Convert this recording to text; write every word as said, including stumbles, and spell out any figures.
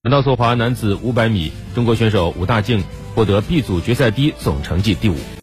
柔道速滑男子五百米，中国选手武大靖获得 B 组决赛第一，总成绩第五。